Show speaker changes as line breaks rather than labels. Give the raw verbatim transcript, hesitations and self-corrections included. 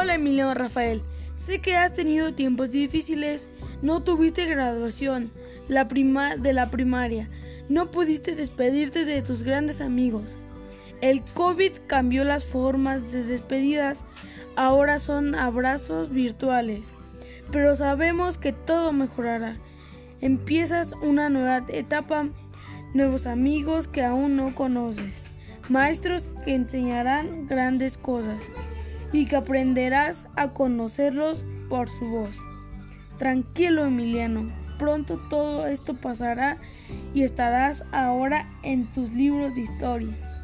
Hola Emiliano Rafael, sé que has tenido tiempos difíciles, no tuviste graduación la prima de la primaria, no pudiste despedirte de tus grandes amigos. El COVID cambió las formas de despedidas, ahora son abrazos virtuales, pero sabemos que todo mejorará. Empiezas una nueva etapa, nuevos amigos que aún no conoces, maestros que enseñarán grandes cosas y que aprenderás a conocerlos por su voz. Tranquilo, Emiliano, pronto todo esto pasará y estarás ahora en tus libros de historia.